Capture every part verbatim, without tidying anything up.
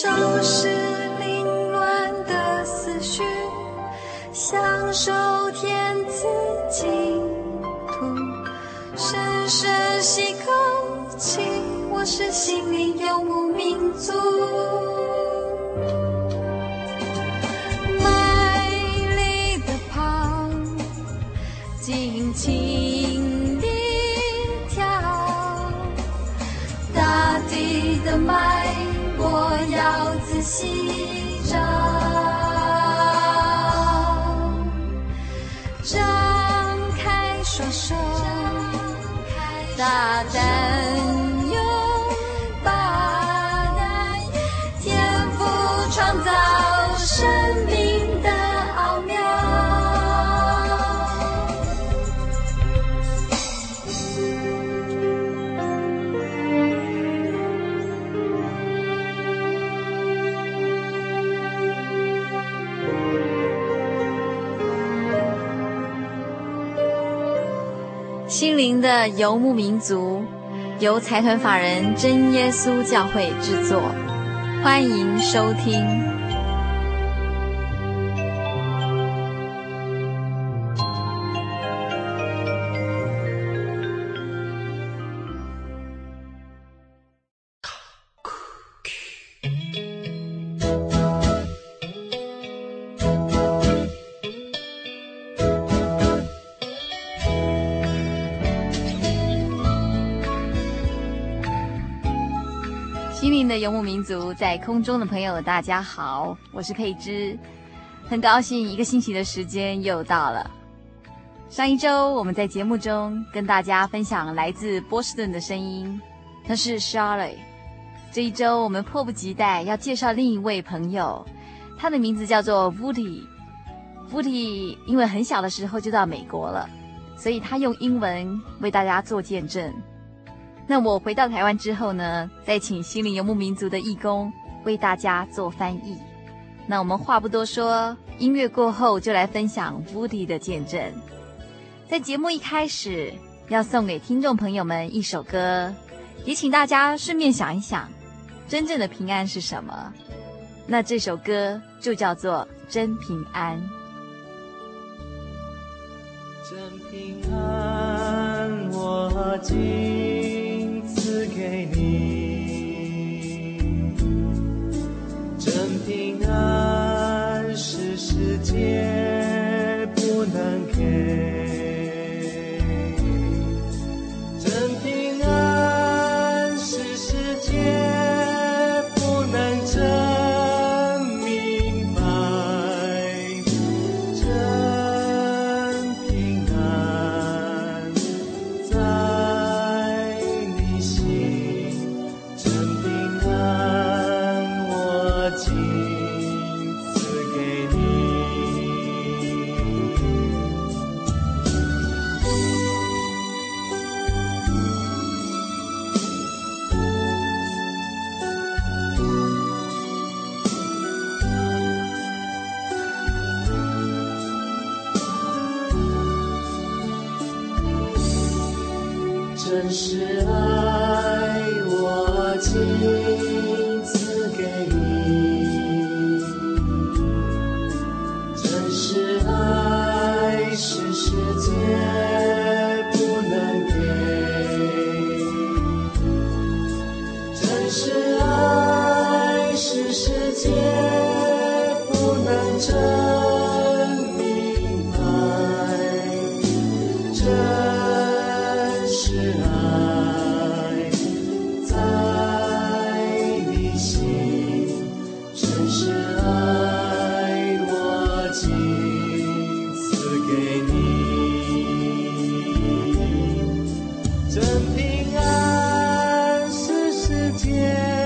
收拾凌亂的思緒，享受天賜淨土，深深吸口氣，我是心靈游牧民族。賣力的跑，盡情地跳，大地的脈我要仔細找，張開雙手，大膽擁抱，天父創造生命的奧妙。心靈的游牧民族，由財團法人真耶穌教會製作，歡迎收聽。心靈的游牧民族，在空中的朋友大家好，我是佩芝，很高興一個星期的時間又到了。上一周我們在節目中跟大家分享來自波士頓的聲音，那是 Charlotte。 這一周我們迫不及待要介紹另一位朋友，他的名字叫做 Woody。 Woody 因為很小的時候就到美國了，所以他用英文為大家做見證。那我回到台灣之後呢，再請心靈游牧民族的義工為大家做翻譯。那我們話不多說，音樂過後就來分享 Woody 的見證。在節目一開始，要送給聽眾朋友們一首歌，也請大家順便想一想，真正的平安是什麼？那這首歌就叫做《真平安》。 真平安，我今賜給你，真平安是世界不能給，真平安是世界不能真明白，真平安在你心，真平安我今賜給你。真是愛我今賜給你，真是愛是世界不能給，真是愛是世界不能真明白，真是愛在你心，真是愛我今賜給你，真平安是世界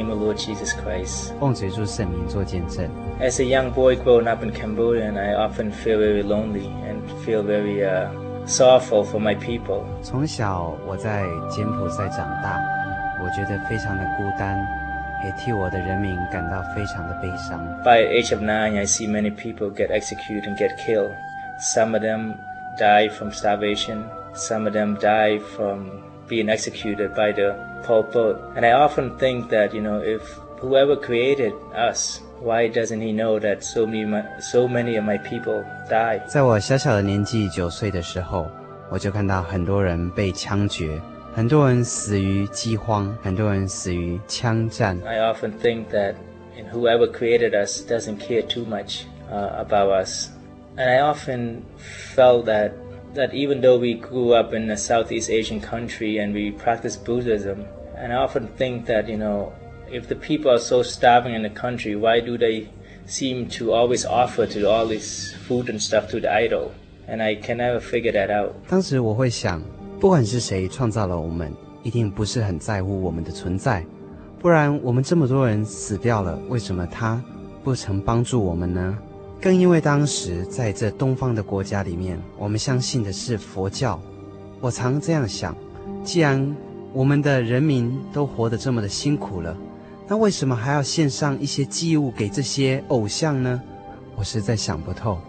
name of Lord Jesus Christ. 奉主耶穌聖名做見證。 As a young boy growing up in Cambodia, I often feel very lonely and feel very uh, sorrowful for my people. 從小我在柬埔寨長大，我覺得非常的孤單，也替我的人民感到非常的悲傷。 By the age of nine, I see many people get executed and get killed. Some of them die from starvation. Some of them die from being executed by the Pol Pot. And I often think that, you know, if whoever created us, why doesn't he know that so many, so many of my people die? 在我小小的年紀九歲的時候，我就看到很多人被槍決，很多人死於饑荒，很多人死於槍戰。 I often think that whoever created us doesn't care too much uh, about us. And I often felt that that even though we grew up in a Southeast Asian country and we practice Buddhism, and I often think that, you know, if the people are so starving in the country, why do they seem to always offer to all this food and stuff to the idol? And I can never figure that out. 當時我會想，不管是誰創造了我們，一定不是很在乎我們的存在，不然我們這麼多人死掉了，為什麼他不曾幫助我們呢？更因為當時在這東方的國家裡面，我們相信的是佛教。我常這樣想，既然我們的人民都活得這麼的辛苦了，那為什麼還要獻上一些祭物給這些偶像呢？我實在想不透。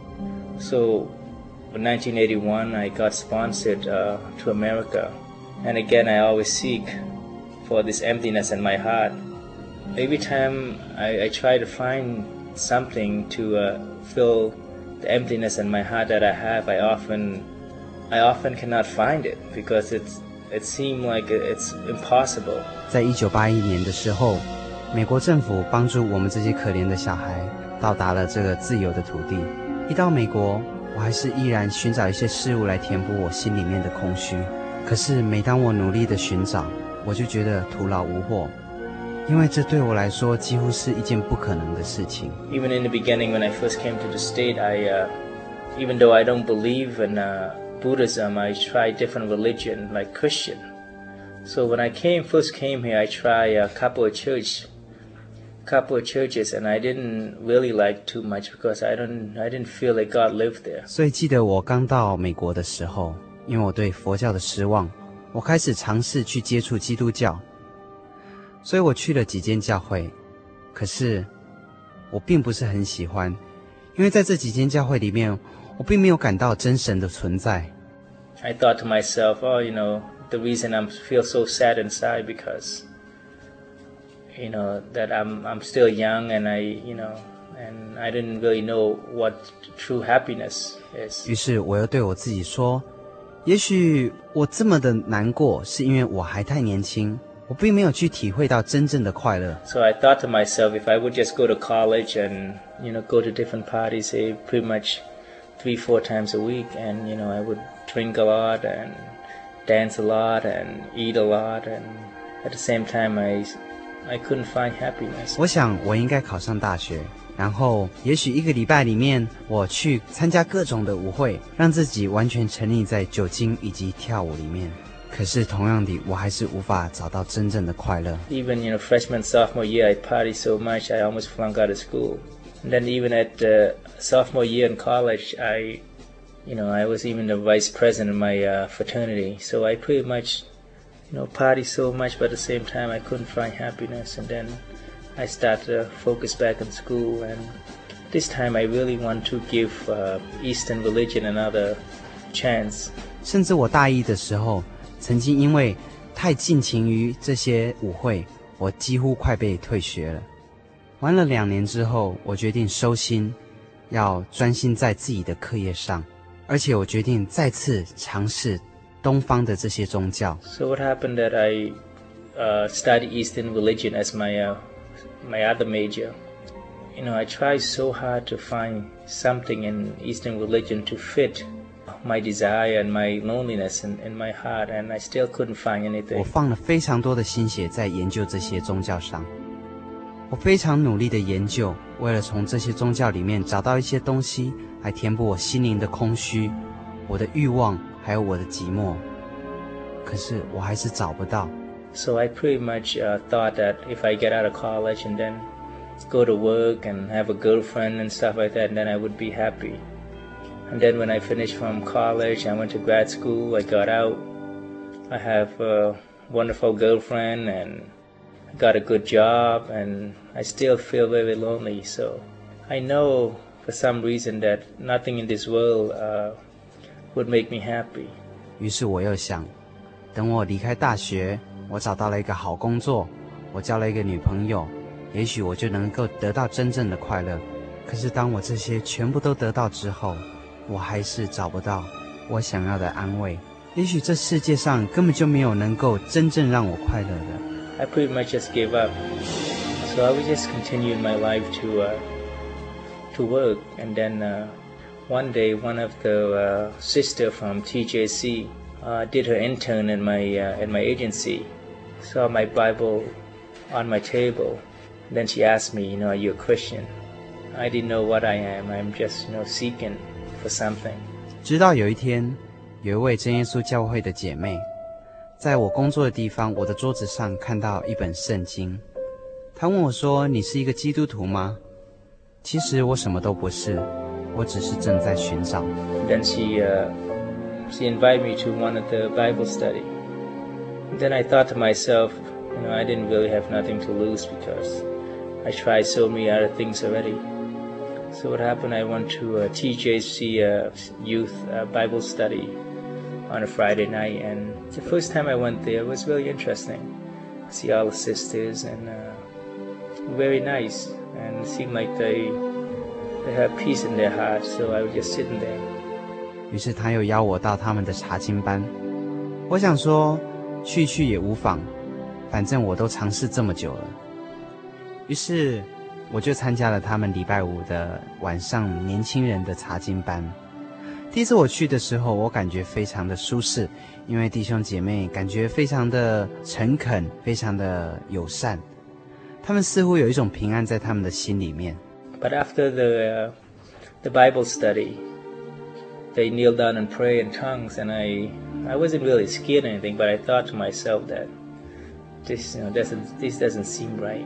So in nineteen eighty-one, I got sponsored uh, to America. And again, I always seek for this emptiness in my heart. Every time I, I try to find something to uh, fill the emptiness in my heart that I have, I often, I often cannot find it because it's, it seemed like it's impossible. 在一九八一年的時候，美國政府幫助我們這些可憐的小孩到達了這個自由的土地。一到美國，我還是依然尋找一些事物來填補我心裡面的空虛。可是每當我努力的尋找，我就覺得徒勞無獲。因為這對我來說幾乎是一件不可能的事情。 Even in the beginning, when I first came to the state, I, uh, even though I don't believe in uh, Buddhism, I tried different religion like Christian. So when I came first came here, I tried a couple of church, couple of churches, and I didn't really like too much because I don't, I didn't feel like God lived there. 所以記得我剛到美國的時候，因為我對佛教的失望，我開始嘗試去接觸基督教。所以我去了幾間教會，可是我並不是很喜歡，因為在這幾間教會裡面，我並沒有感到真神的存在。 I thought to myself, oh, you know, the reason I feel so sad inside because, you know, that I'm I'm still young and I, you know, and I didn't really know what true happiness is. 於是我又對我自己說，也許我這麼的難過，是因為我還太年輕。我並沒有去體會到真正的快樂。 So I thought to myself, if I would just go to college and, you know, go to different parties, say pretty much three, four times a week, and, you know, I would drink a lot and dance a lot and eat a lot, and at the same time, I, I couldn't find happiness. 我想我應該考上大學，然後也許一個禮拜裡面，我去參加各種的舞會，讓自己完全沉溺在酒精以及跳舞裡面。可是同樣的，我還是無法找到真正的快樂。 Even, you know, freshman, sophomore year, I partied so much, I almost flunked out of school. And then even at the sophomore year in college, I, you know, I was even the vice president of my uh, fraternity. So I pretty much, you know, partied so much, but at the same time, I couldn't find happiness. And then I started to focus back on school. And this time, I really want to give uh, Eastern religion another chance. 甚至我大一的時候，曾經因為太盡情於這些舞會，我幾乎快被退學了。玩了兩年之後，我決定收心，要專心在自己的課業上，而且我決定再次嘗試東方的這些宗教。 So what happened that I uh, studied Eastern religion as my uh, my other major. You know, I tried so hard to find something in Eastern religion to fit my desire and my loneliness in, in my heart, and I still couldn't find anything. 我放了非常多的心血在研究这些宗教上，我非常努力的研究，為了從這些宗教裡面找到一些東西來填補我心靈的空虛，我的慾望還有我的寂寞，可是我還是找不到。 So I pretty much uh, thought that if I get out of college and then go to work and have a girlfriend and stuff like that, then I would be happy. And then when I finished from college, I went to grad school, I got out, I have a wonderful girlfriend and got a good job, and I still feel very lonely. So I know for some reason that nothing in this world uh, would make me happy. 於是我又想，等我離開大學，我找到了一個好工作，我交了一個女朋友，也許我就能夠得到真正的快樂。可是當我這些全部都得到之後，我還是找不到我想要的安慰。也許這世界上根本就沒有能夠真正讓我快樂的。 I pretty much just gave up. So I would just continue my life to uh, to work. And then uh, one day, one of the uh, sister from T J C uh, did her intern in my uh, in my agency. Saw my Bible on my table. Then she asked me, you know, are you a Christian? I didn't know what I am. I'm just, you know, seeking for something. 直到有一天，有一位真耶穌教會的姐妹，在我工作的地方，我的桌子上看到一本聖經。她問我說：“你是一個基督徒嗎？”其實我什麼都不是，我只是正在尋找。 Then she uh, she invited me to one of the Bible study. Then I thought to myself, you know, I didn't really have nothing to lose because I tried so many other things already. So what happened, I went to a T J C uh, youth uh, Bible study on a Friday night, and the first time I went there, it was really interesting. See all the sisters, and uh, very nice, and it seemed like they they had peace in their hearts. So I was just sitting there. 於是他又邀我到他們的查經班，我想說去去也無妨，反正我都嘗試這麼久了。於是我就參加了他們禮拜五的晚上年輕人的查經班。第一次我去的時候，我感覺非常的舒適，因為弟兄姐妹感覺非常的誠懇，非常的友善，他們似乎有一種平安在他們的心裡面。 But after the uh, the Bible study, they kneel down and pray in tongues, and I I wasn't really scared or anything, but I thought to myself that this you know doesn't this doesn't seem right.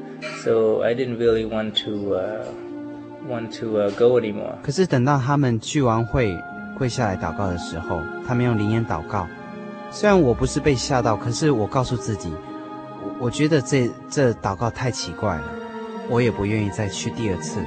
So I didn't really want to uh, want to uh, go anymore. 可是等到他們聚完會跪下來禱告的時候，他們用靈言禱告。雖然我不是被嚇到，可是我告訴自己，我我覺得這這禱告太奇怪了，我也不願意再去第二次。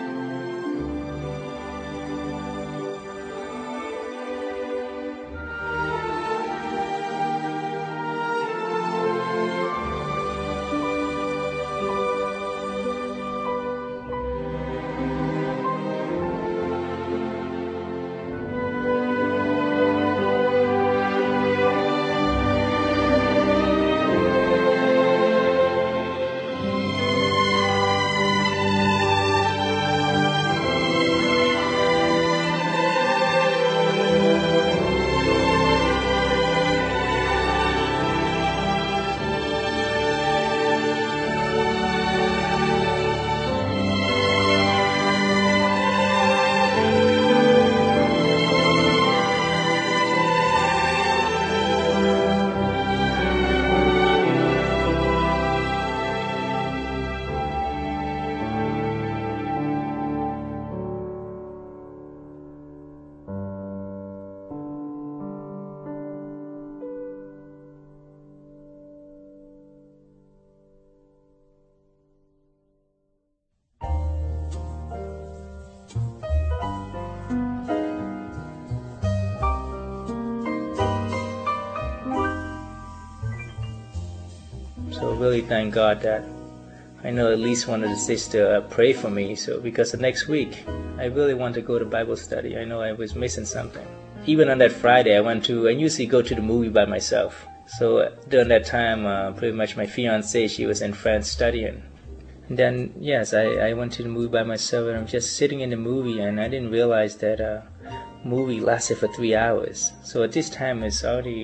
So really thank God that I know at least one of the sisters uh, pray for me. So because the next week I really want to go to Bible study. I know I was missing something. Even on that Friday, I went to, I usually go to the movie by myself. So uh, during that time, uh, pretty much my fiancée, she was in France studying. And then, yes, I, I went to the movie by myself, and I'm just sitting in the movie, and I didn't realize that uh, movie lasted for three hours. So at this time, it's already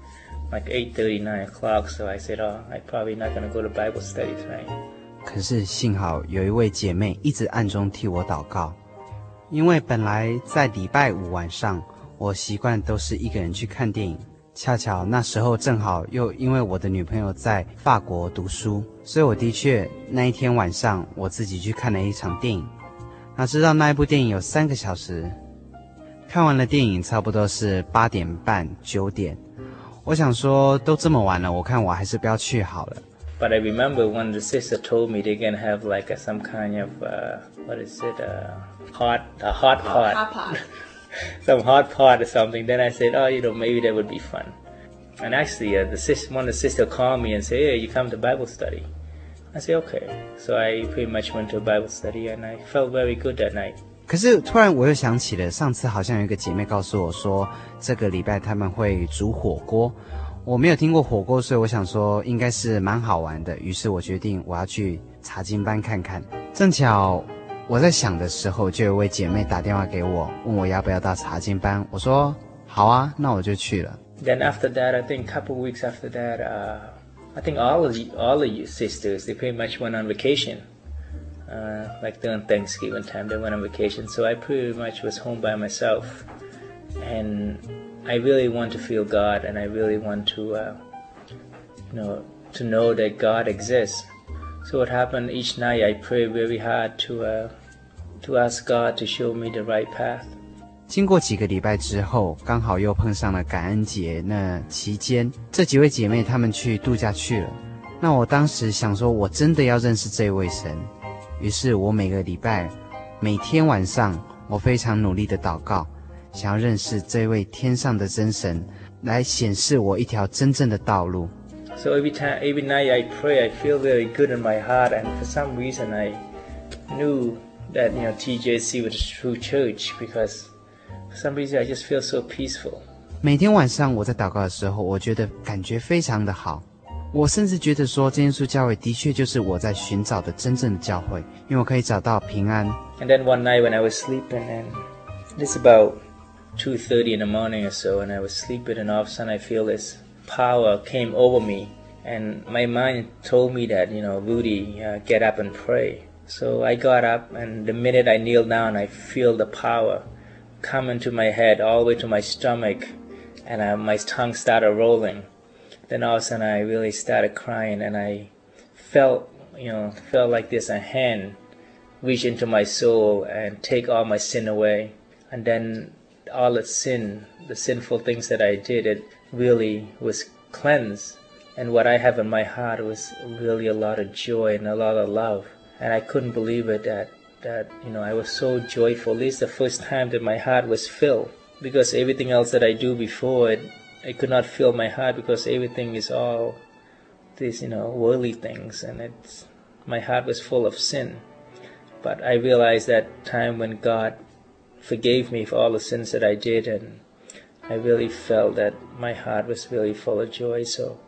like eight thirty, nine o'clock, so I said, oh, I'm probably not going to go to Bible study tonight. 可是幸好有一位姐妹一直暗中替我禱告，因為本來在禮拜五晚上，我習慣都是一個人去看電影， 恰巧那時候正好又因為我的女朋友在法國讀書，所以我的確那一天晚上我自己去看了一場電影。哪知道那一部電影有三個小時，看完了電影差不多是八點半九點，我想說都這麼晚了，我看我還是不要去好了。 But I remember when the sister told me they're gonna have like a, some kind of uh, what is it, uh, hot, a hot pot, hot pot. some hot pot or something. Then I said, oh, you know, maybe that would be fun. And actually, uh, the sis, one of the sister called me and said, hey, you come to Bible study. I said, okay. So I pretty much went to a Bible study, and I felt very good that night. 可是突然我又想起了上次好像有一個姐妹告訴我說，這個禮拜他們會煮火鍋。我沒有聽過火鍋，所以我想說應該是蠻好玩的。於是我決定我要去查經班看看。正巧我在想的時候，就有一位姐妹打電話給我，問我要不要到查經班。我說好啊，那我就去了。 Then after that, I think a couple of weeks after that, uh, I think all of you, all of you sisters, they pretty much went on vacation. Uh, like during Thanksgiving time, they went on vacation. So I pretty much was home by myself. And I really want to feel God, and I really want to, uh, you know, to know that God exists. So what happened each night, I pray very hard to, uh, to ask God to show me the right path. 經過幾個禮拜之後，剛好又碰上了感恩節，那期間這幾位姐妹她們去度假去了。那我當時想說，我真的要認識這位神。於是我每個禮拜，每天晚上，我非常努力的禱告，想要認識這位天上的真神，來顯示我一條真正的道路。 So every time, every night I pray, I feel very good in my heart, and for some reason I knew that, you know, T J C was a true church because for some reason I just feel so peaceful. 每天晚上我在禱告的時候，我覺得感覺非常的好。我甚至覺得說，真耶穌教會的確就是我在尋找的真正的教會，因為我可以找到平安。 And then one night when I was sleeping, and it's about two thirty in the morning or so, and I was sleeping, and all of a sudden I feel this power came over me, and my mind told me that, you know, Rudy, uh, get up and pray. So I got up, and the minute I kneeled down, I feel the power come into my head all the way to my stomach, and uh, my tongue started rolling. Then all of a sudden I really started crying, and I felt, you know, felt like this a hand reach into my soul and take all my sin away. And then all the sin, the sinful things that I did, it really was cleansed. And what I have in my heart was really a lot of joy and a lot of love. And I couldn't believe it that, that, you know, I was so joyful. This is the first time that my heart was filled. Because everything else that I do before it, I could not fill my heart because everything is all these, you know, worldly things. And it's, my heart was full of sin. But I realized that time when God forgave me for all the sins that I did, and I really felt that my heart was really full of joy. So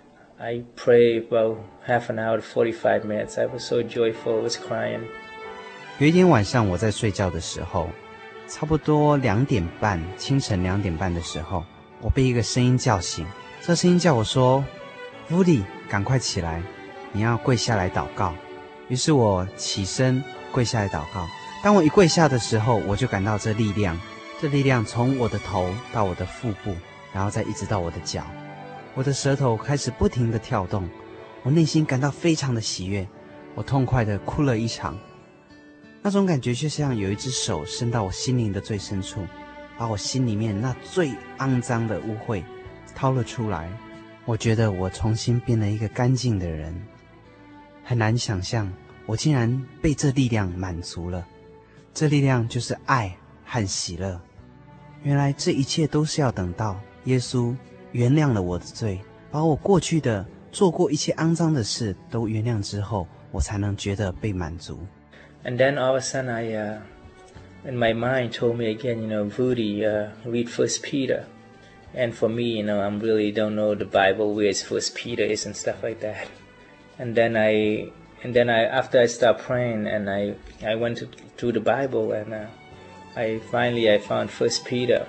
I prayed about half an hour to forty-five minutes. I was so joyful, I was crying. 有一天晚上我在睡覺的時候，差不多兩點半，清晨兩點半的時候，我被一個聲音叫醒。這聲音叫我說 ：“Woody，趕快起來，你要跪下來禱告。”於是我起身跪下來禱告。當我一跪下的時候，我就感到這力量，這力量從我的頭到我的腹部，然後再一直到我的腳。我的舌頭開始不停地跳動，我內心感到非常的喜悅，我痛快地哭了一場。那種感覺就像有一隻手伸到我心靈的最深處，把我心裡面那最骯髒的污穢掏了出來。我覺得我重新變了一個乾淨的人。很難想象，我竟然被這力量滿足了。這力量就是愛和喜樂。原來這一切都是要等到耶穌原諒了我的罪，把我過去的做過一切骯髒的事都原諒之後，我才能覺得被滿足。 And then all of a sudden I, uh, in my mind told me again, you know, Rudy, uh, read First Peter. And for me, you know, I really don't know the Bible where First Peter is and stuff like that. And then I, and then I, after I started praying, and I, I went to, through the Bible, and uh, I finally I found First Peter.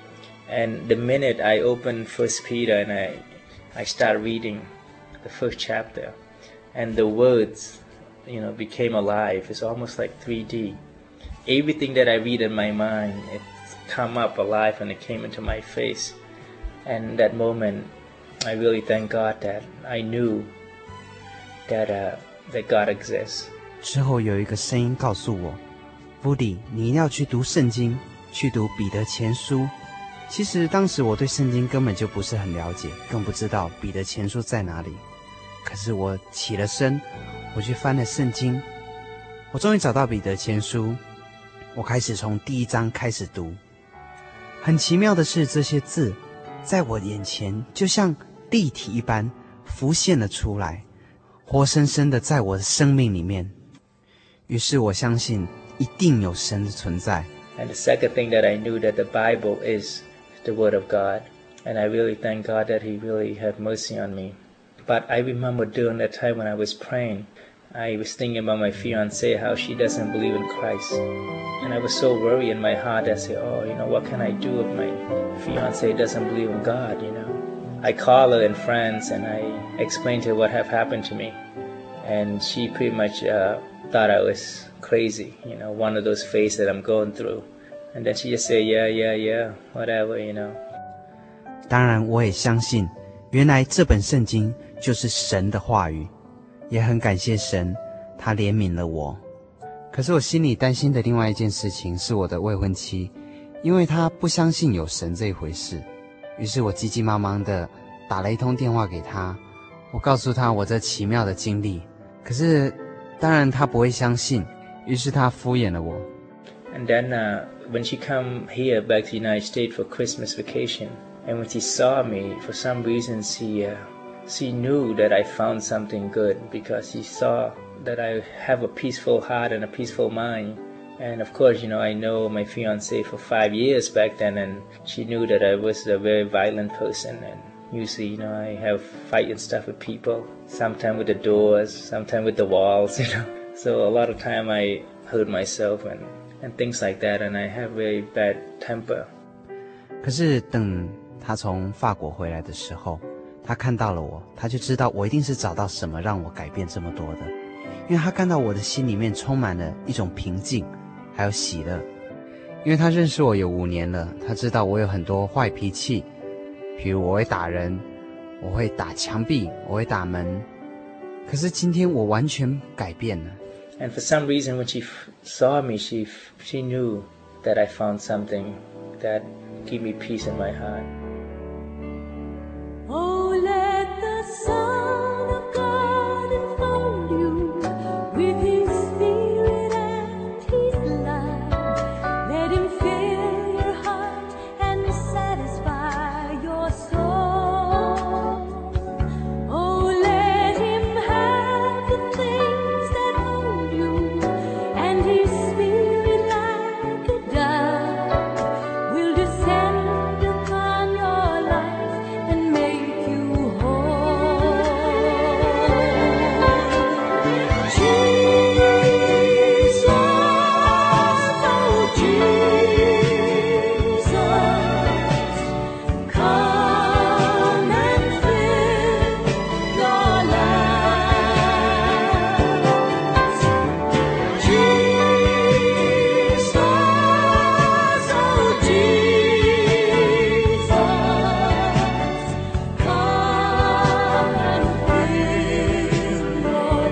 And the minute I opened First Peter and I, I started reading the first chapter, and the words, you know, became alive. It's almost like three D. Everything that I read in my mind, it's come up alive and it came into my face. And that moment, I really thank God that I knew that uh, that God exists. 之后有一个声音告訴我 Woody 你一定要去讀聖經，去讀彼得前書。其實當時我對聖經根本就不是很了解，更不知道彼得前書在哪裡。可是我起了身，我去翻了聖經，我終於找到彼得前書，我開始從第一章開始讀。很奇妙的是，這些字在我眼前就像立體一般浮現了出來，活生生的在我的生命裡面。於是我相信一定有神的存在。 And the second thing that I knew that the Bible is the Word of God. And I really thank God that He really had mercy on me. But I remember during that time when I was praying, I was thinking about my fiancée, how she doesn't believe in Christ. And I was so worried in my heart. I said, oh, you know, what can I do if my fiancée doesn't believe in God, you know? I called her in France and I explained to her what had happened to me. And she pretty much uh, thought I was crazy, you know, one of those phases that I'm going through. And then she just said, yeah, yeah, yeah, whatever, you know. 当然我也相信原来这本聖經就是神的話語，也很感謝神他憐憫了我。可是我心裡擔心的另外一件事情是我的未婚妻，因為她不相信有神這一回事。於是我急急忙忙的打了一通電話給她，我告訴她我這奇妙的經歷。可是當然她不會相信，於是她敷衍了我。 And then uh, when she come here back to the United States for Christmas vacation, and when she saw me, for some reason she uh, she knew that I found something good, because she saw that I have a peaceful heart and a peaceful mind. And of course, you know, I know my fiancée for five years back then, and she knew that I was a very violent person. And usually, you know, I have fight and stuff with people, sometimes with the doors, sometimes with the walls, you know. So a lot of time I hurt myself and, and things like that, and I have very bad temper. 可是等他從法國回來的時候，他看到了我，他就知道我一定是找到什麼讓我改變這麼多的，因為他看到我的心裡面充滿了一種平靜，還有喜樂。因為他認識我有五年了，他知道我有很多壞脾氣，比如我會打人，我會打牆壁，我會打門。可是今天我完全改變了。 And for some reason, when she saw me, she she knew that I found something that gave me peace in my heart. Oh, let the Son of God enfold you with His Spirit and His love. Let Him fill your heart and satisfy your soul. Oh, let Him have the things that hold you, and His Spirit like a dove will descend upon your life and make you whole. Jesus, oh Jesus, come and fill your lives. Jesus, oh Jesus, come and fill your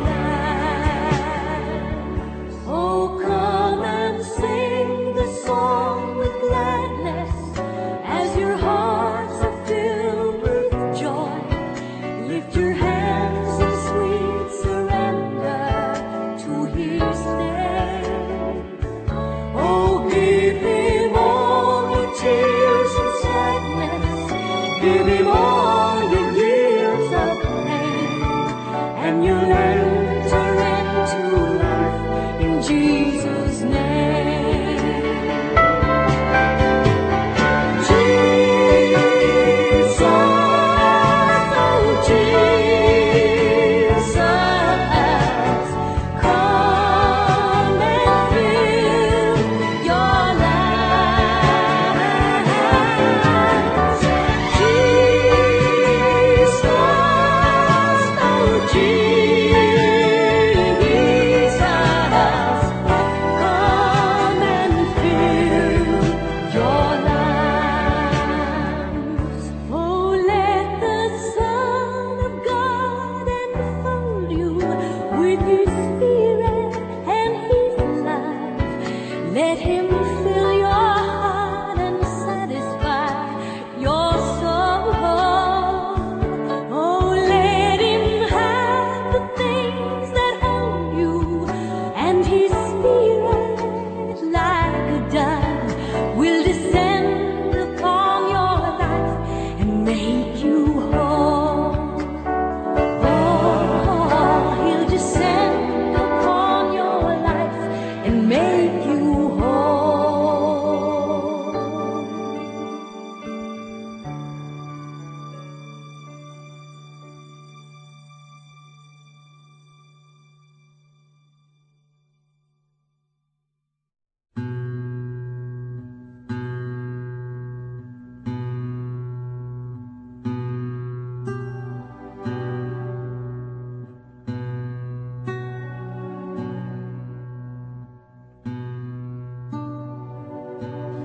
lives. Oh, come and sing the song with gladness as your hearts are filled with joy. Lift your hands in sweet surrender to His name. Oh, give Him all your tears and sadness. Give Him all your years of pain, and you'll enter into life in Jesus' name. Jesus, oh Jesus, come and fill your lives. Jesus, oh Jesus,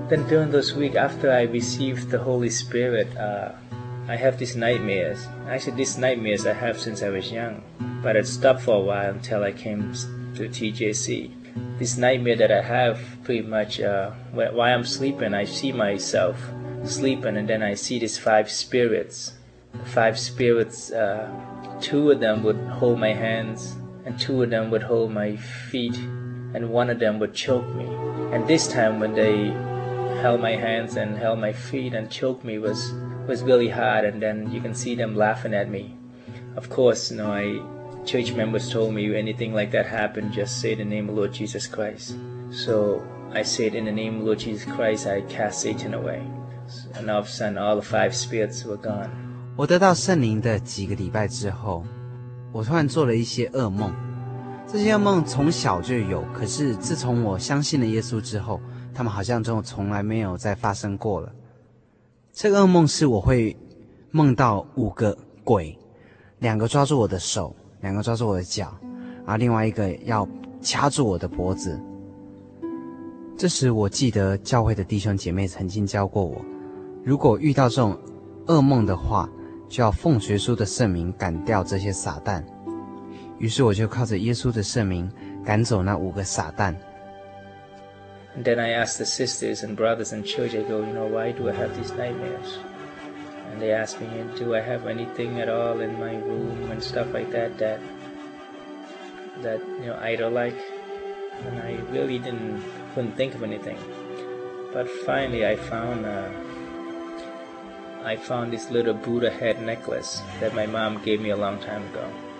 then during those weeks after I received the Holy Spirit, uh, I have these nightmares. Actually, these nightmares I have since I was young, but it stopped for a while until I came to T J C. This nightmare that I have pretty much, uh, while I'm sleeping, I see myself sleeping, and then I see these five spirits. The five spirits, uh, two of them would hold my hands, and two of them would hold my feet, and one of them would choke me. And this time when they held my hands and held my feet and choked me was was really hard, and then you can see them laughing at me. Of course, you know, I church members told me anything like that happened, just say the name of Lord Jesus Christ. So I said, in the name of Lord Jesus Christ, I cast Satan away. And all of a sudden, all the five spirits were gone. 我得到圣靈的幾個禮拜之後，我突然做了一些噩夢。這些噩夢從小就有，可是自從我相信了耶穌之後，他們好像就從來沒有再發生過了。這個噩夢是我會夢到五個鬼，兩個抓住我的手，兩個抓住我的腳，然後另外一個要掐住我的脖子。這時我記得教會的弟兄姐妹曾經教過我，如果遇到這種噩夢的話，就要奉耶穌的聖名趕掉這些撒旦。於是我就靠着耶穌的聖名趕走那五個撒旦。 And then I asked the sisters and brothers in church, I go, you know, why do I have these nightmares? And they asked me, do I have anything at all in my room and stuff like that that, that you know, idol like? And I really didn't, couldn't think of anything. But finally I found, uh, I found this little Buddha head necklace that my mom gave me a long time ago.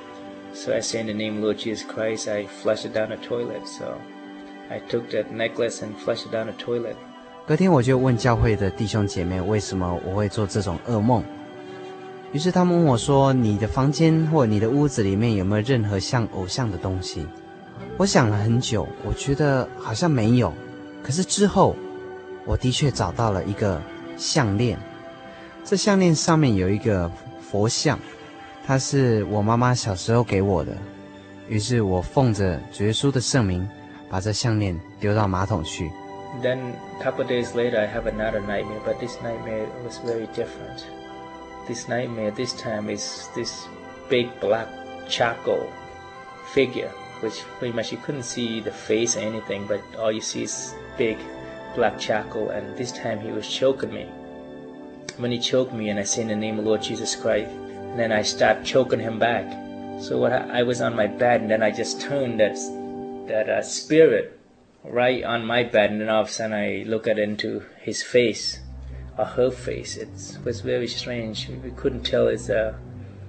So I say in the name of Lord Jesus Christ, I flushed it down the toilet, so I took that necklace and flushed it down the toilet. 隔天我就問教會的弟兄姐妹，為什麼我會做這種噩夢？於是他們問我說：“你的房間或你的屋子裡面有沒有任何像偶像的東西？”我想了很久，我覺得好像沒有。可是之後，我的確找到了一個項鏈，這項鏈上面有一個佛像，它是我媽媽小時候給我的。於是我奉着耶穌的聖名，把這項鏈丟到馬桶去。 Then a couple of days later, I have another nightmare, but this nightmare was very different. This nightmare this time is this big black charcoal figure, which pretty much you couldn't see the face or anything, but all you see is big black charcoal, and this time he was choking me. When he choked me, and I say in the name of Lord Jesus Christ, and then I start choking him back. So what I, I was on my bed, and then I just turned that that uh, spirit right on my bed, and then all of a sudden I look at into his face, or her face. It was very strange. We couldn't tell it's a,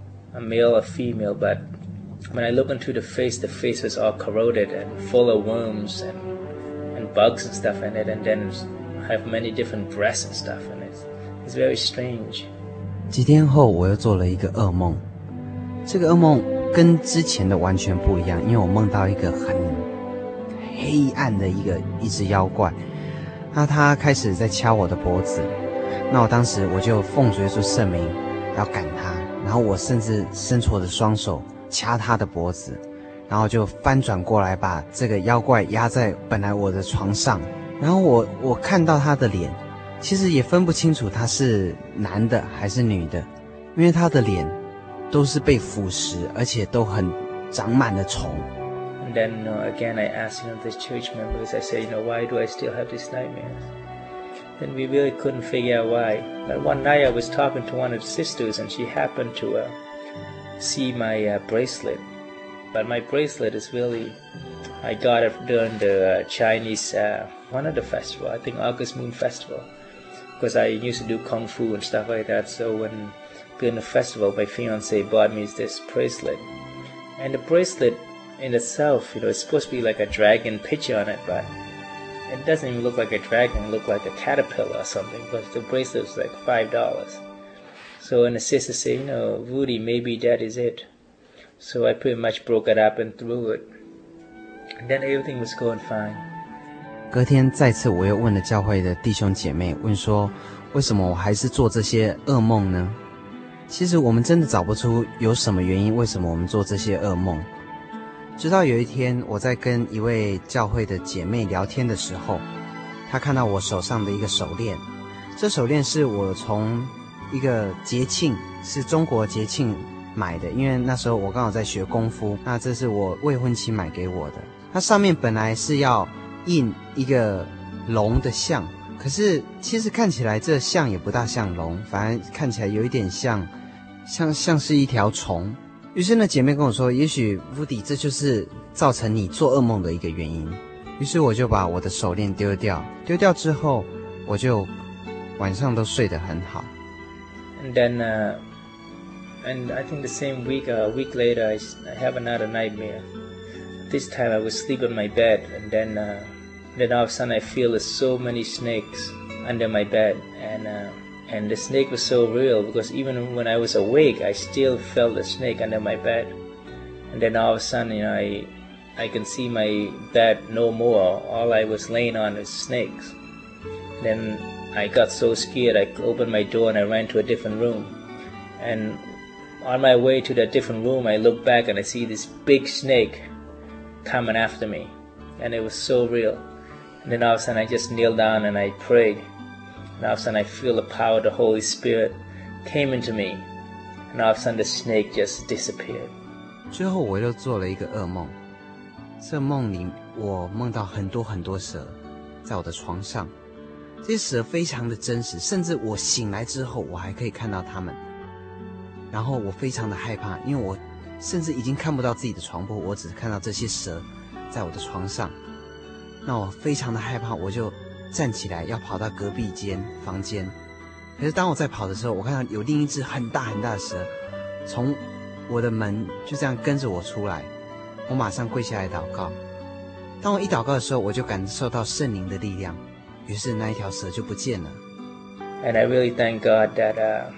a male or female, but when I look into the face, the face was all corroded and full of worms and, and bugs and stuff in it, and then have many different breasts and stuff in it. It's very strange. 幾天後，我又做了一個噩夢，這個噩夢跟之前的完全不一樣，因為我夢到一個很黑暗的一個一隻妖怪，那他開始在掐我的脖子，那我當時我就奉耶穌聖名要趕他，然後我甚至伸出我的雙手掐他的脖子，然後就翻轉過來把這個妖怪壓在本來我的床上，然後我我看到他的臉，其實也分不清楚他是男的還是女的，因為他的臉都是被腐蝕，而且都很長滿了蟲。 And then uh, again, I asked, you know, this church members, I said, you know, why do I still have these nightmares? Then we really couldn't figure out why. But one night I was talking to one of the sisters, and she happened to uh, see my uh, bracelet. But my bracelet is really, I got it during the uh, Chinese, uh, one of the festival, I think August Moon Festival. Because I used to do Kung Fu and stuff like that, so when during the festival, my fiance bought me this bracelet. And the bracelet in itself, you know, it's supposed to be like a dragon picture on it, but it doesn't even look like a dragon. It looked like a caterpillar or something, but the bracelet was like five dollars. So when the sister said, you know, Rudy, maybe that is it. So I pretty much broke it up and threw it. And then everything was going fine. 隔天再次我又問了教會的弟兄姐妹，問說為什麼我還是做這些噩夢呢？其實我們真的找不出有什麼原因，為什麼我們做這些噩夢。直到有一天，我在跟一位教會的姐妹聊天的時候， 他看到我手上的一個手鏈，這手鏈是我從一個節慶，是中國節慶買的，因為那時候我剛好在學功夫，那這是我未婚妻買給我的。它上面本來是要印一個龍的像，可是其實看起來這像也不大像龍，反而看起來有一點像像像是一條蟲。於是呢，姐妹跟我說，也許Woody這就是造成你做噩夢的一個原因。於是我就把我的手鏈丟掉，丟掉之後，我就晚上都睡得很好。 And then, uh, and I think the same week, a week later, I, I have another nightmare. This time I was asleep on my bed, and then, uh, then all of a sudden I feel there's so many snakes under my bed, and uh, and the snake was so real because even when I was awake, I still felt the snake under my bed. And then all of a sudden, you know, I I can see my bed no more. All I was laying on is snakes. Then I got so scared, I opened my door and I ran to a different room. And on my way to that different room, I look back and I see this big snake coming after me. And it was so real. And then all of a sudden I just kneeled down and I prayed. And all of a sudden I feel the power of the Holy Spirit came into me. And all of a sudden the snake just disappeared. 之後我又做了一個噩夢，這夢裡我夢到很多很多蛇在我的床上，這些蛇非常的真實，甚至我醒來之後我還可以看到它們。然後我非常的害怕，因為我甚至已經看不到自己的床鋪，我只看到這些蛇在我的床上。那我非常的害怕，我就站起來要跑到隔壁間房間。可是當我在跑的時候，我看到有另一隻很大很大的蛇從我的門就這樣跟着我出來，我馬上跪下來禱告。當我一禱告的時候，我就感受到聖靈的力量，於是那一條蛇就不見了。 And I really thank God that uh,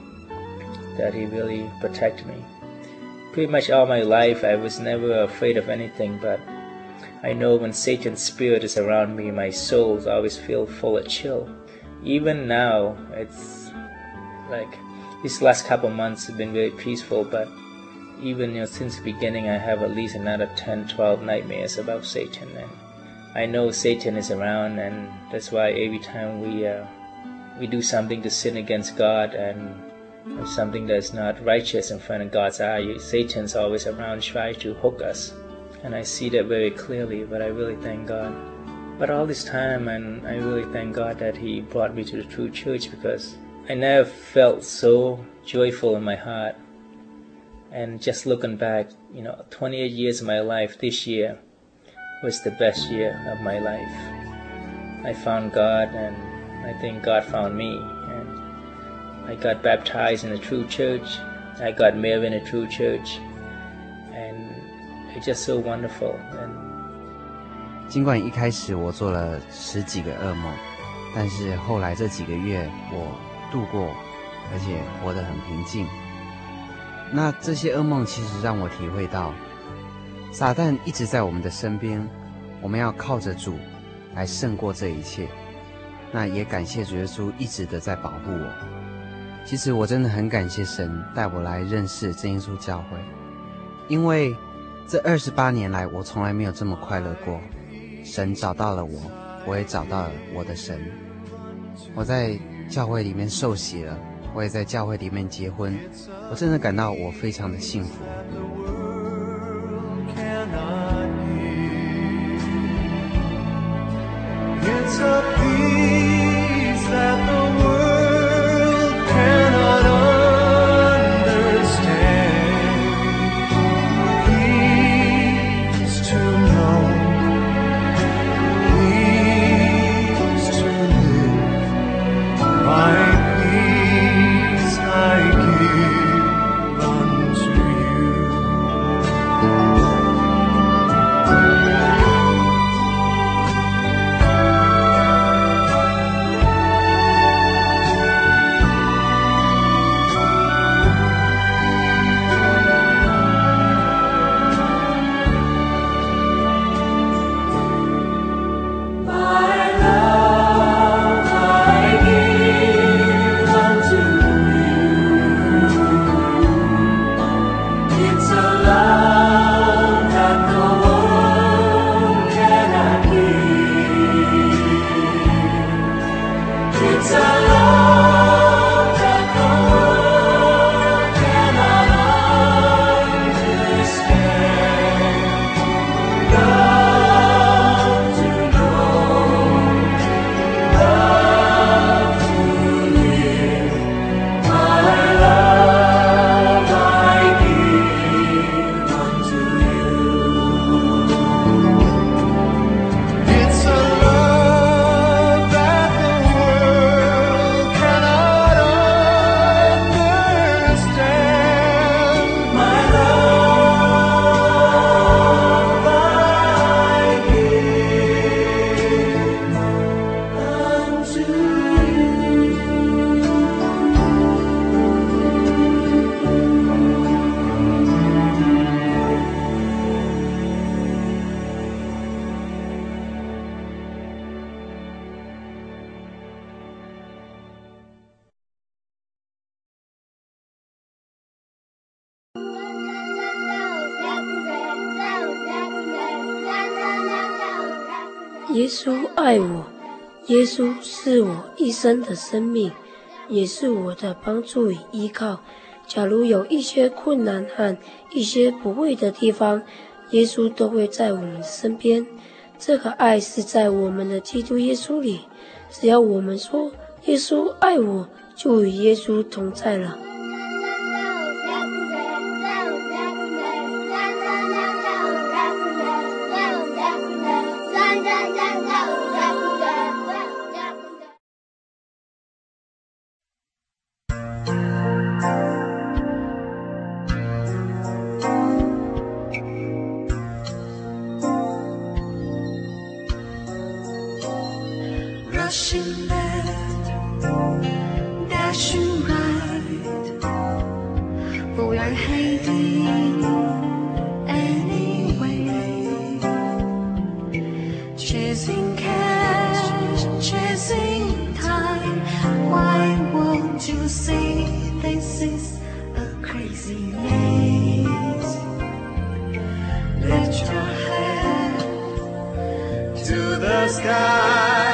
that He really protected me. Pretty much all my life, I was never afraid of anything, but I know when Satan's spirit is around me, my soul always feels full of chill. Even now, it's like these last couple of months have been very peaceful, but even you know, since the beginning, I have at least another ten, twelve nightmares about Satan, and I know Satan is around, and that's why every time we uh, we do something to sin against God and something that's not righteous in front of God's eye, Satan's always around trying to hook us. And I see that very clearly, but I really thank God. But all this time, and I really thank God that He brought me to the true church, because I never felt so joyful in my heart. And just looking back, you know, twenty-eight years of my life, this year was the best year of my life. I found God, and I think God found me. And I got baptized in the true church. I got married in a true church. And...It's just so wonderful. And 儘管一開始我做了十幾個噩夢，但是後來這幾個月我度過，而且活得很平靜。那這些噩夢其實讓我體會到，撒旦一直在我們的身邊，我們要靠着主來勝過這一切。那也感謝主耶穌一直的在保護我。其實我真的很感謝神帶我來認識真耶穌教會，因為這二十八年來，我從來沒有這麼快樂過。神找到了我，我也找到了我的神。我在教會裡面受洗了，我也在教會裡面結婚。我真的感到我非常的幸福。 It's a peace that the world cannot understand. Peace to know, peace to live. My peace I give unto you. 耶穌愛我，耶穌是我一生的生命，也是我的幫助與依靠。假如有一些困難和一些不會的地方，耶穌都會在我們身邊。這個愛是在我們的基督耶穌裡，只要我們說耶穌愛我，就與耶穌同在了。 Rushing left, dashing right, but we are heading anyway. Chasing cash, chasing time. Why won't you see this is a crazy maze? Lift your head to the sky.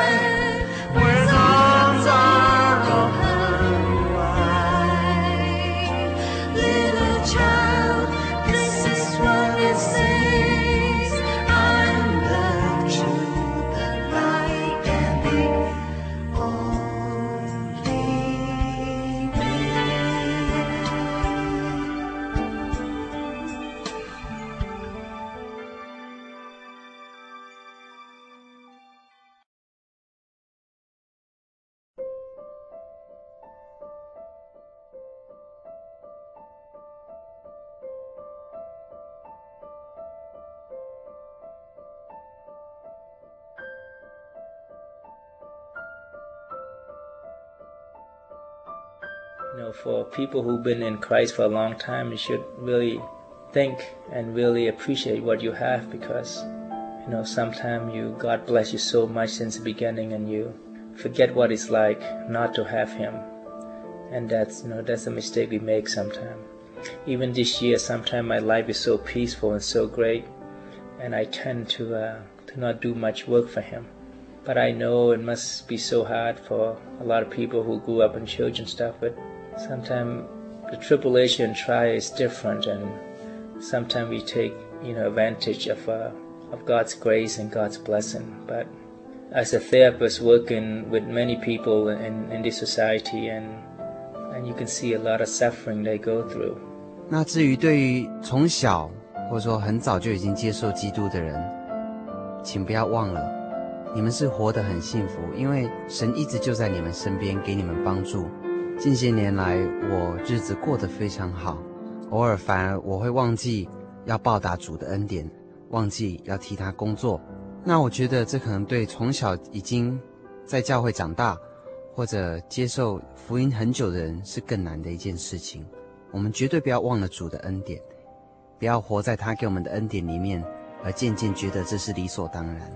You know, for people who've been in Christ for a long time, you should really think and really appreciate what you have, because, you know, sometimes you, God bless you so much since the beginning, and you forget what it's like not to have Him. And that's, you know, that's a mistake we make sometimes. Even this year, sometimes my life is so peaceful and so great, and I tend to, uh, to not do much work for Him. But I know it must be so hard for a lot of people who grew up in church and stuff, but sometimes the tribulation and trial is different, and sometimes we take, you know, advantage of uh, of God's grace and God's blessing. But as a therapist working with many people in, in this society, and and you can see a lot of suffering they go through. 那至於對於從小或者說很早就已經接受基督的人，請不要忘了，你們是活得很幸福，因為神一直就在你們身邊，給你們幫助。近些年來，我日子過得非常好，偶爾反而我會忘記要報答主的恩典，忘記要替他工作。那我覺得這可能對從小已經在教會長大，或者接受福音很久的人是更難的一件事情。我們絕對不要忘了主的恩典，不要活在他給我們的恩典裡面，而漸漸覺得這是理所當然。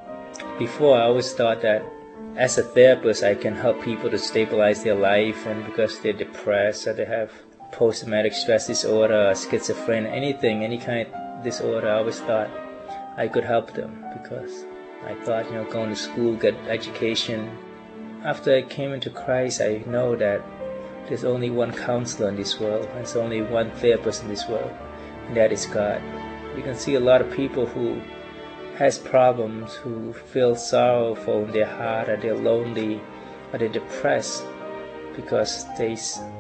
Before, I always thought that as a therapist, I can help people to stabilize their life, and because they're depressed or they have post-traumatic stress disorder or schizophrenia, anything, any kind of disorder, I always thought I could help them, because I thought, you know, going to school, get education. After I came into Christ, I know that there's only one counselor in this world, and there's only one therapist in this world, and that is God. You can see a lot of people who has problems, who feel sorrowful in their heart, or they're lonely, or they're depressed, because they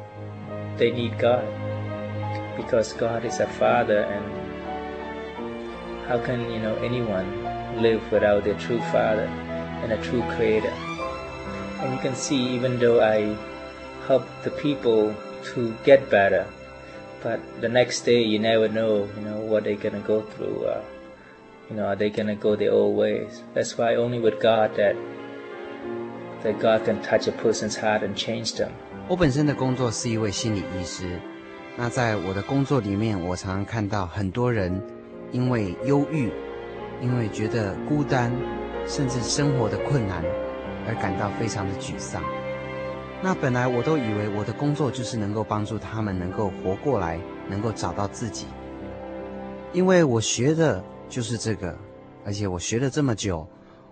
they need God, because God is a Father, and how can, you know, anyone live without their true Father and a true Creator? And you can see, even though I help the people to get better, but the next day you never know, you know, what they're gonna go through. Uh, You know, are they gonna go their old ways? That's why only with God that that God can touch a person's heart and change them. 我本身的工作是一位心理醫師，那在我的工作裡面，我常常看到很多人因為憂鬱，因為覺得孤單，甚至生活的困難，而感到非常的沮喪。那本來我都以為我的工作就是能夠幫助他們能夠活過來，能夠找到自己，因為我學的就是這個，而且我學了這麼久，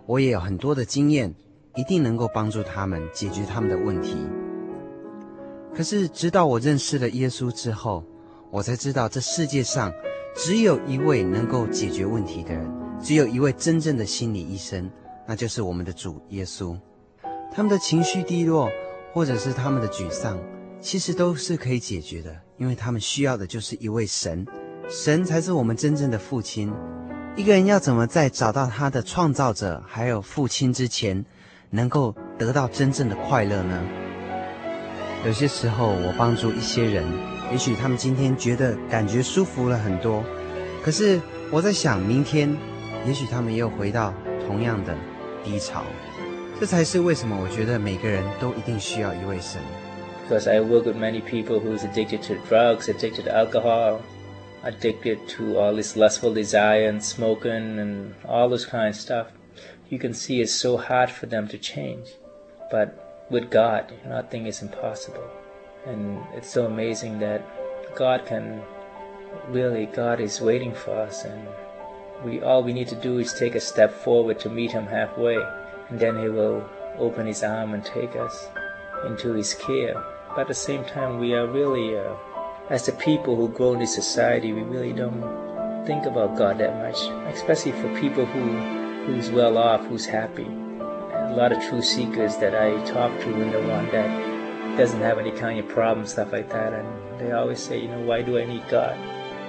我也有很多的經驗，一定能夠幫助他們解決他們的問題。可是直到我認識了耶穌之後，我才知道這世界上只有一位能夠解決問題的人，只有一位真正的心理醫生，那就是我們的主耶穌。他們的情緒低落，或者是他們的沮喪，其實都是可以解決的，因為他們需要的就是一位神，神才是我們真正的父親。一個人要怎麼在找到他的創造者還有父親之前，能夠得到真正的快樂呢？有些時候我幫助一些人，也許他們今天覺得感覺舒服了很多，可是我在想，明天也許他們又回到同樣的低潮。這才是為什麼我覺得每個人都一定需要一位神。 Because I work with many people who's addicted to drugs, addicted to alcohol, addicted to all this lustful desire and smoking and all this kind of stuff. You can see it's so hard for them to change. But with God, nothing is impossible. And it's so amazing that God can really, God is waiting for us. And we all we need to do is take a step forward to meet Him halfway. And then He will open His arm and take us into His care. But at the same time, we are really, uh, as the people who grow in this society, we really don't think about God that much, especially for people who, who's well off, who's happy. And a lot of true seekers that I talk to, and the one that doesn't have any kind of problems, stuff like that, and they always say, you know, why do I need God?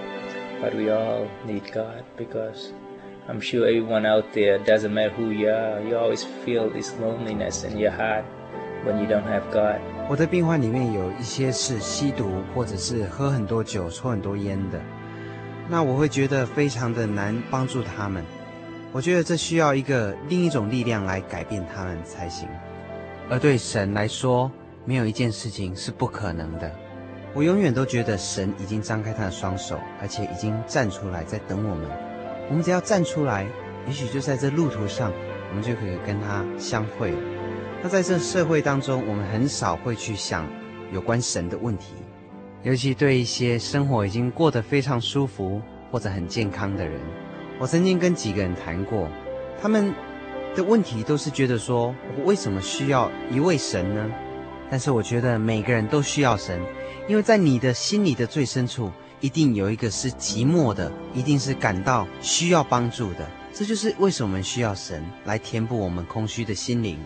But we all need God, because I'm sure everyone out there, doesn't matter who you are, you always feel this loneliness in your heart when you don't have God. 我的病患裡面有一些是吸毒，或者是喝很多酒、抽很多煙的，那我會覺得非常的難幫助他們。我覺得這需要一個另一種力量來改變他們才行。而對神來說，沒有一件事情是不可能的。我永遠都覺得神已經張開他的雙手，而且已經站出來在等我們。我們只要站出來，也許就在這路途上，我們就可以跟他相會了。那在這社會當中，我們很少會去想有關神的問題，尤其對一些生活已經過得非常舒服或者很健康的人。我曾經跟幾個人談過，他們的問題都是覺得說，我為什麼需要一位神呢？但是我覺得每個人都需要神，因為在你的心裡的最深處，一定有一個是寂寞的，一定是感到需要幫助的。這就是為什麼我們需要神來填補我們空虛的心靈。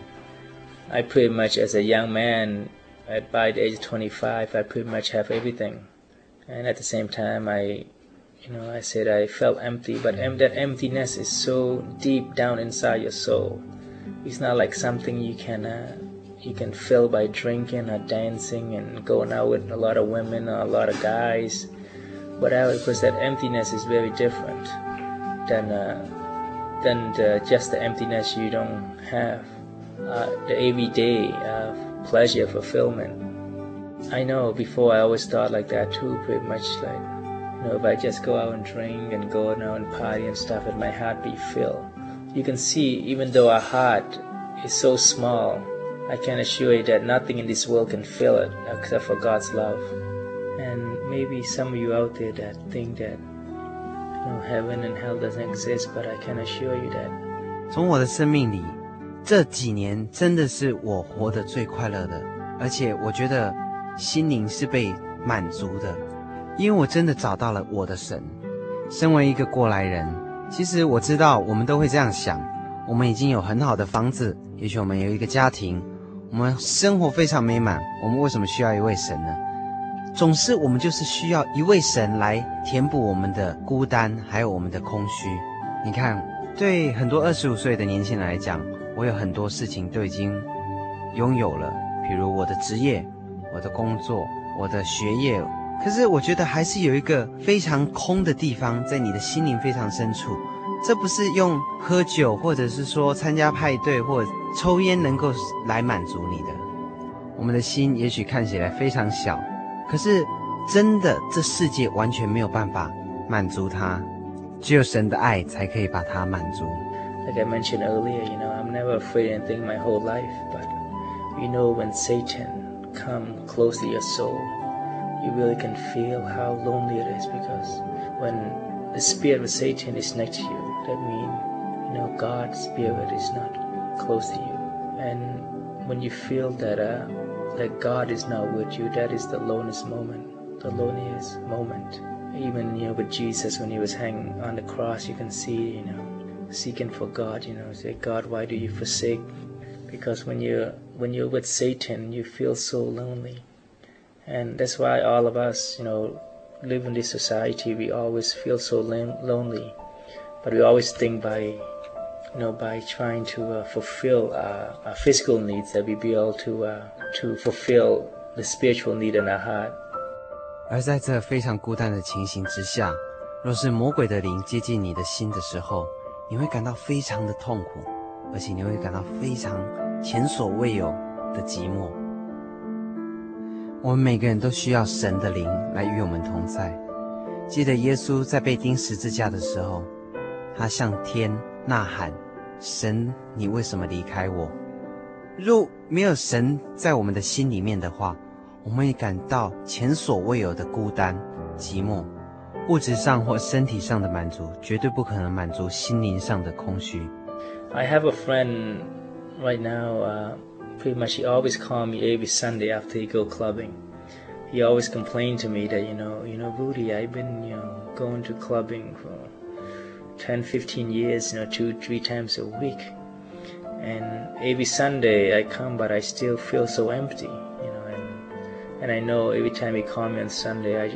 I pretty much, as a young man, at by the age of twenty-five, I pretty much have everything. And at the same time, I, you know, I said I felt empty, but em- that emptiness is so deep down inside your soul. It's not like something you can, uh, you can fill by drinking or dancing and going out with a lot of women or a lot of guys. Whatever, because that emptiness is very different than uh, than the, just the emptiness you don't have, uh, the everyday uh, pleasure, fulfillment. I know before I always thought like that too, pretty much like, you know, if I just go out and drink and go out and party and stuff, and my heart be filled. You can see, even though our heart is so small, I can assure you that nothing in this world can fill it except for God's love. And maybe some of you out there that think that, you know, heaven and hell doesn't exist, but I can assure you that. 從我的生命裡，這幾年真的是我活得最快樂的，而且我覺得心靈是被滿足的，因為我真的找到了我的神。身為一個過來人，其實我知道我們都會這樣想，我們已經有很好的房子，也許我們有一個家庭，我們生活非常美滿，我們為什麼需要一位神呢？總是我們就是需要一位神來填補我們的孤單，還有我們的空虛。你看，對很多二十五歲的年輕人來講，我有很多事情都已經擁有了，比如我的職業、我的工作、我的學業。可是我覺得還是有一個非常空的地方，在你的心靈非常深處。這不是用喝酒，或者是說參加派對或者抽煙能夠來滿足你的。我們的心也許看起來非常小，可是真的這世界完全沒有辦法滿足它，只有神的愛才可以把它滿足。 Like I mentioned earlier, you know, I'm never afraid of anything my whole life, but you know, when Satan come close to your soul, you really can feel how lonely it is, because when the spirit of Satan is next to you, that means, you you know, God's Spirit is not close to you. And when you feel that uh, that God is not with you, that is the loneliest moment, the loneliest moment. Even, you know, with Jesus, when he was hanging on the cross, you can see, you know, seeking for God, you know, say, God, why do you forsake? Because when you're, when you're with Satan, you feel so lonely. And that's why all of us, you know, live in this society, we always feel so lonely. But we always think by, you know, by trying to uh, fulfill uh, our physical needs, that we be able to, uh, to fulfill the spiritual need in our heart. 而在這非常孤单的情形之下，若是魔鬼的靈接近你的心的時候，你會感到非常的痛苦，而且你會感到非常前所未有的寂寞。我們每個人都需要神的靈來與我們同在。記得耶穌在被釘十字架的時候，他向天吶喊：神，你為什麼離開我？若沒有神在我們的心裡面的話，我們會感到前所未有的孤單、寂寞。物質上或身體上的滿足，絕對不可能滿足心靈上的空虛。 I have a friend right now, uh, pretty much he always call me every Sunday after he go clubbing. He always complained to me that, you know, you know, Rudy, I've been, you know, going to clubbing for ten, fifteen years, you know, two, three times a week. And every Sunday I come, but I still feel so empty, you know, and, and I know every time he call me on Sunday, I,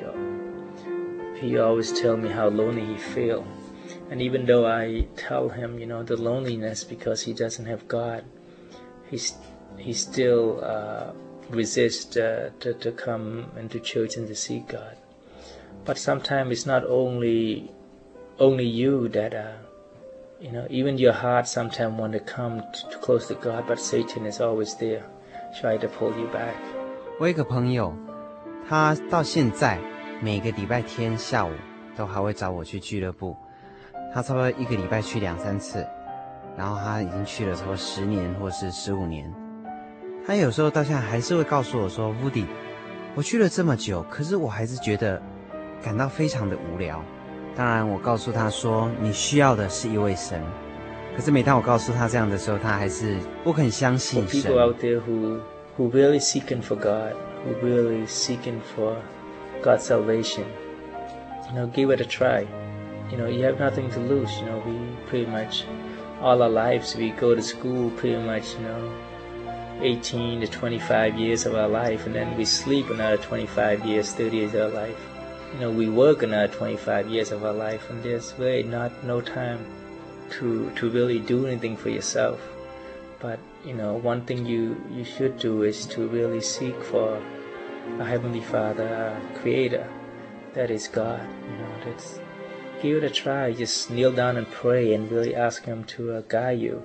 he always tell me how lonely he feel. And even though I tell him, you know, the loneliness because he doesn't have God, he's, he still uh, resists uh, to, to come into church and to see God. But sometimes it's not only only you that, uh, you know, even your heart sometimes want to come too close to God, but Satan is always there, try to pull you back. 我有一個朋友，他到現在每個禮拜天下午都還會找我去俱樂部，他差不多一個禮拜去兩三次，然後他已經去了差不多十年或是十五年。他有時候到現在還是會告訴我說 Woody， 我去了這麼久，可是我還是覺得感到非常的無聊。當然我告訴他說你需要的是一位神，可是每當我告訴他這樣的時候，他還是不肯相信神。 For people out there who, who really seeking for God, who really seeking for God's salvation, you know, give it a try. You know, you have nothing to lose. You know, we pretty much, all our lives, we go to school pretty much, you know, eighteen to twenty-five years of our life, and then we sleep another twenty-five years, thirty years of our life. You know, we work another twenty-five years of our life, and there's really not no time to to really do anything for yourself. But, you know, one thing you, you should do is to really seek for a Heavenly Father, a Creator, that is God. You know, that's, give it a try. Just kneel down and pray and really ask Him to uh, guide you.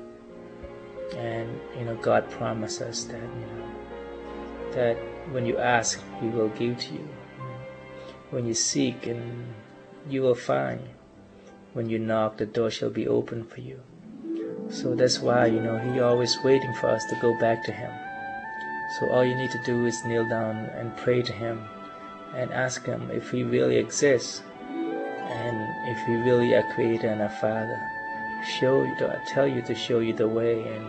And, you know, God promised us that, you know, that when you ask, He will give to you. When you seek, and you will find. When you knock, the door shall be open for you. So that's why, you know, He always waiting for us to go back to Him. So all you need to do is kneel down and pray to Him and ask Him if He really exists, and if He really a Creator and a Father. Show you, to, tell you to show you the way, and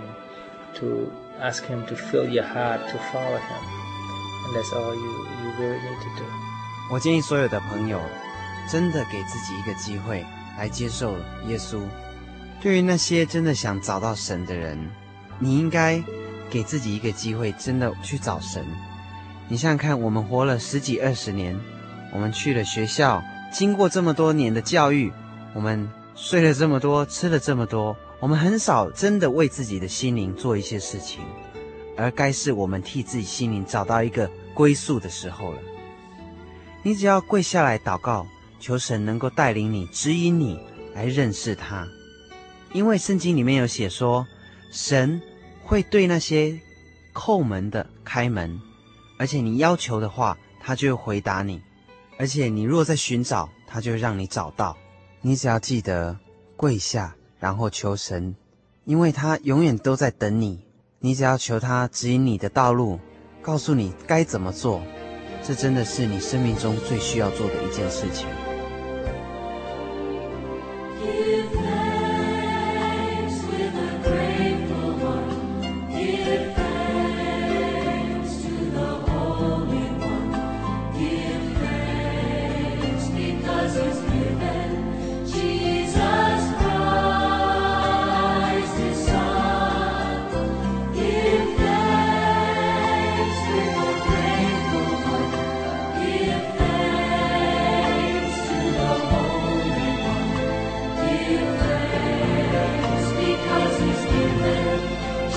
to ask Him to fill your heart to follow Him. And that's all you, you really need to do. 我建議所有的朋友真的給自己一個機會來接受耶穌。對於那些真的想找到神的人，你應該給自己一個機會，真的去找神。你想想看，我們活了十幾二十年，我們去了學校，經過這麼多年的教育，我們睡了這麼多，吃了這麼多，我們很少真的為自己的心靈做一些事情，而該是我們替自己心靈找到一個歸宿的時候了。你只要跪下來禱告，求神能夠帶領你，指引你來認識他。因為聖經裡面有寫說，神會對那些叩門的開門，而且你要求的話，他就會回答你，而且你若在尋找，他就會讓你找到。你只要記得跪下，然後求神，因為他永遠都在等你。你只要求他指引你的道路，告訴你該怎麼做，這真的是你生命中最需要做的一件事情。 Give thanks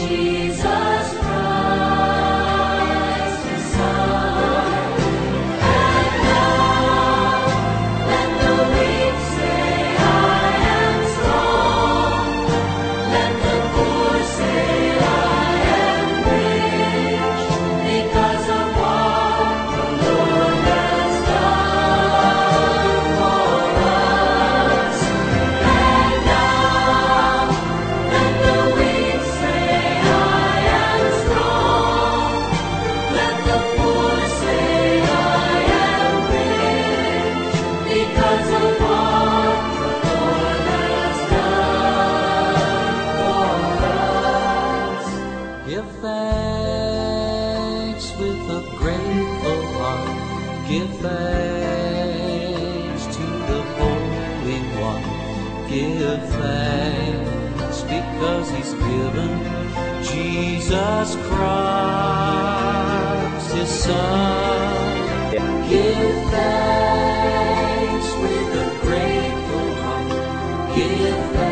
Jesus Christ, His Son. And now let the weak say, I am strong. Let the poor say, I am rich, because of what the Lord has done for us. And now let the weak say, I am strong. Let the poor say, I am rich, because of what the Lord has done for us. Give thanks with a grateful heart. Give thanks to the Holy One. Give thanks because He's given Jesus Christ, His Son. Give thanks with a grateful heart. Give thanks